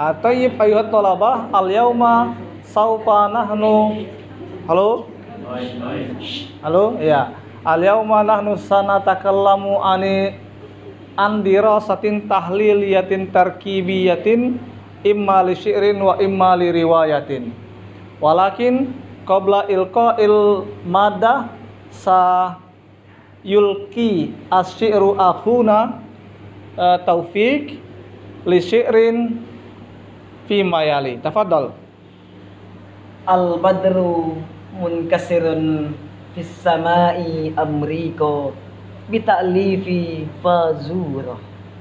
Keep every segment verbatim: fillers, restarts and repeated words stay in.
Tayyib ayuhat thalabah al-yauma saufa nahnu. Halo? Halo? Ya. Al-yauma nahnu sanatakallamu ani an dirasatin tahliliyatin tarkibiyatin imma li syi'rin wa imma li riwayatin. Walakin qabla ilqa'il madah sa yulki asyi'ru akhuna uh, Taufik li syi'rin fi mayali. Tafadhal. Al badru munkasirun fis samai amriko bita'lifi fazura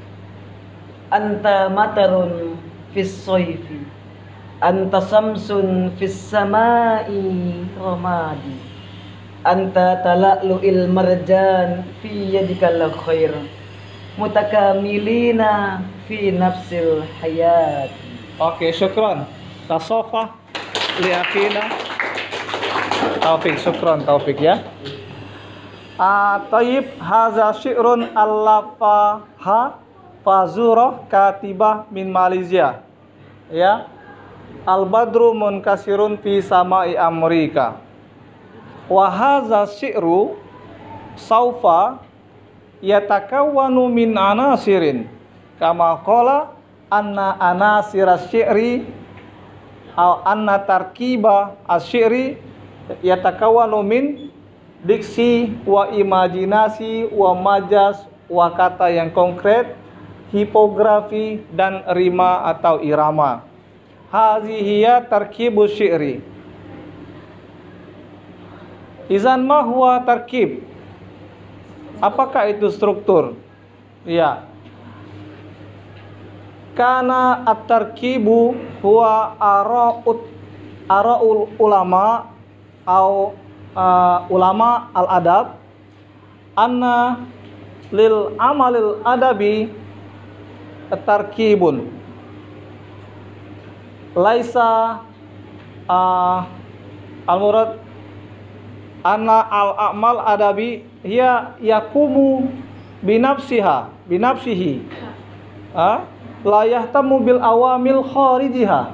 anta matarun fis soifi anta samsun fis samai ramadi anta tala'lu'il marjan fi yadikal khair mutakamilina fi nafsil hayat. Oke, syukran. Tasofah li akhina Taufik, syukran Taufik ya. Ah, tayyib haza syi'run allafaha fazurah katibah min Malaysia. Ya. Al-badru munkasirun fi samai Amerika. Wa haza syi'ru saufa yatakawwanu min anasirin kama qala anna anasira syi'ri aw anna tarkiba asy-syi'ri yatakawwanu min diksi wa imajinasi wa majas wa kata yang konkret, hipografi dan rima atau irama. Hazihiya tarkibu syi'ri. Izan ma huwa tarkib? Apakah itu struktur? Ya. Kana at-tarkibu huwa ara'ut ara'ul ulama au uh, ulama al-adab anna lil amalil adabi tarkibun laisa uh, al-murad anna al-amal adabi hiya yakumu binafsiha binafsihi ha la yahtamu bil awamil kharijiha.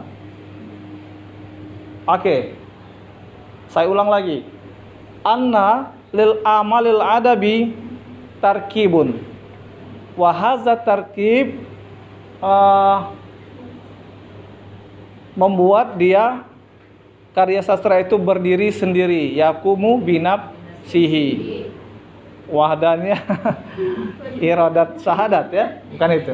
Oke, saya ulang lagi. Anna lil amalil adabi tarkibun wa hadza tarkib uh, membuat dia karya sastra itu berdiri sendiri, yakumu binafsihi. Wahdannya iradat syahadat ya, bukan itu.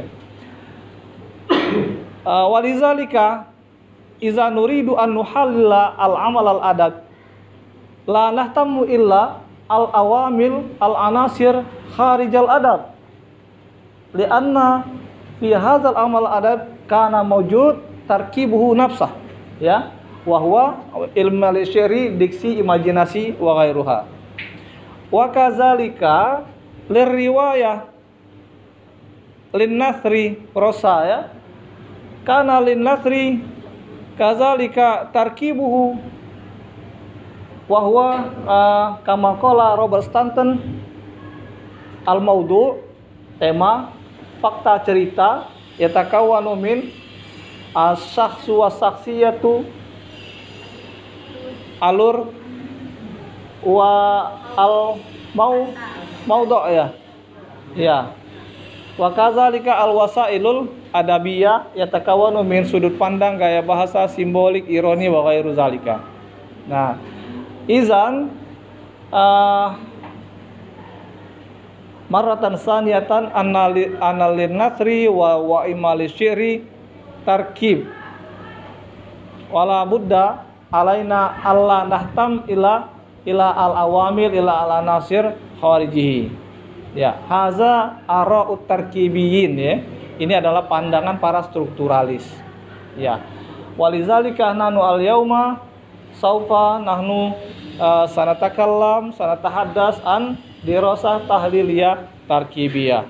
Uh, walizalika iza nuridu an nuhallila al-amal al-adab la nahtamu illa al-awamil al-anasir kharijal adab lianna fi hadzal amal adab kana mawjud tarkibuhu nafsah ya wa huwa ilmu al-syiri diksi imajinasi wa ghairuha wa kadzalika lirriwayah lin nasri rosa ya kana lin nasri kadzalika tarkibuhu wa huwa uh, kama qala Robert Stanton al maudu tema fakta cerita yatakawwanu min as-syakhsu was-sakhsiyatu alur wa al mau maudhu ya ya wa kadzalika al wasailul adabiyah yatakawwanu min sudut pandang gaya bahasa simbolik ironi wa ghairu zalika. Nah, izan uh, maratan saniyatan analin nasri wa wa imali syiri tarkib wala budda alaina alla nahtam ila ila al awamil ila al anasir kharijihi ya haza ara'ut tarkibiyin ya ini adalah pandangan para strukturalis ya walizalika nahnu al yauma saufa nahnu uh, sanatakallam sanatahaddas an dirasah tahliliyah tarkibiyah.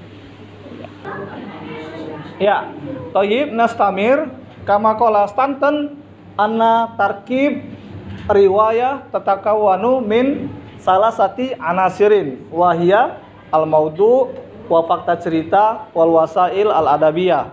Ya, thayyib nastamir kama qala Stanton anna tarkib riwayah tatakawwanu min salasati anasirin wahia al maudu wa fakta cerita wal wasail al adabiyah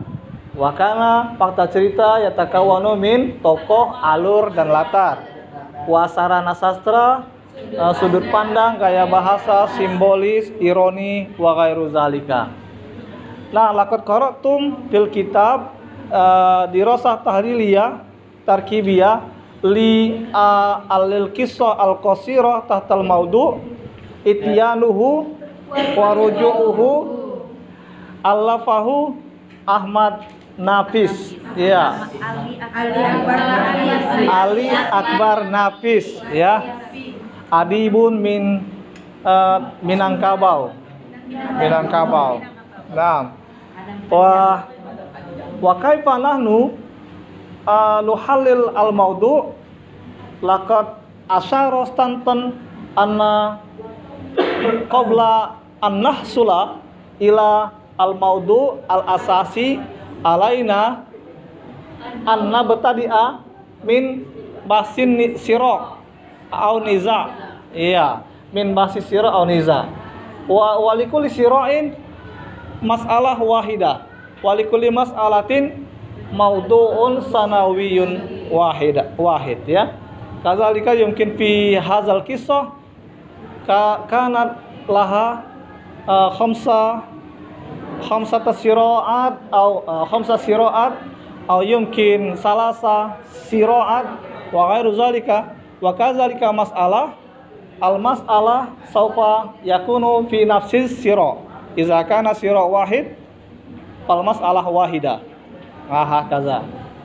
Wakana fakta cerita yatakawanu min tokoh, alur dan latar. Wasarana sastra uh, sudut pandang, gaya bahasa, simbolis, ironi, wa ghairu zalika. Nah, laqad qara'tum fil kitab uh, dirasah tahliliyah tarkibiyah li uh, alil qissah al qasirah tahtal maudu ityanuhu wa ruju'uhu allafahu Ahmad Nafis. Ya. Ali Akbar Nafis. Ali Akbar Nafis, ya. Adibun min uh, Minangkabau. Minangkabau. Nah, wa wa kaifa nahnu uh, nuhallil al maudu laqad asyara stantan anna qabla an nahsula ila al maudu al asasi alaina an nabtadi'a min basin sira au niza. Iya, min basin sira au niza. Wa walikul sira'in mas'alah wahidah. Walikul mas'alatin maudu'un sanawiyun wahida wahid, ya. Kadzalika yumkin fi hadzal qissah ka kanat laha uh, khamsa khamsata sira'at au uh, khamsa sira'at au yumkin salasa sira'at wa ghairu zalika. Wa kadzalika mas'alah al mas'alah saufa yakunu fi nafsis sira idza kana sira wahid fal mas'alah wahida. Aha kaza.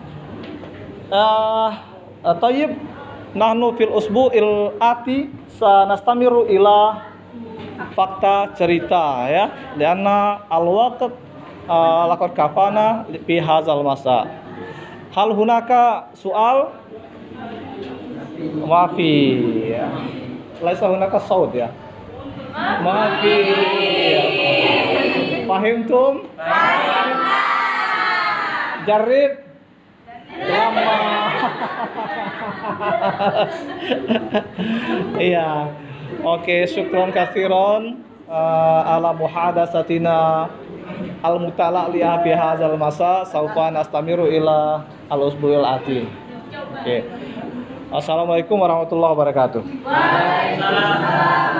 Uh, Tayyib, nahnu fil usbu'il ati sanastamiru ila fakta cerita, ya. Lianna al-waqt uh, laqad kafana fi hadzal masa. Hal hunaka soal? Maafi. Ya. Laisa hunaka saud, ya. Maafi. Ya. Fahimtum? Jarib lama. Iya. Oke, syukron katsiron uh, ala muhadasatina al mutala li fi hadzal masa saufa nastamiru ila al usbuil ati. Oke. Assalamualaikum warahmatullahi wabarakatuh.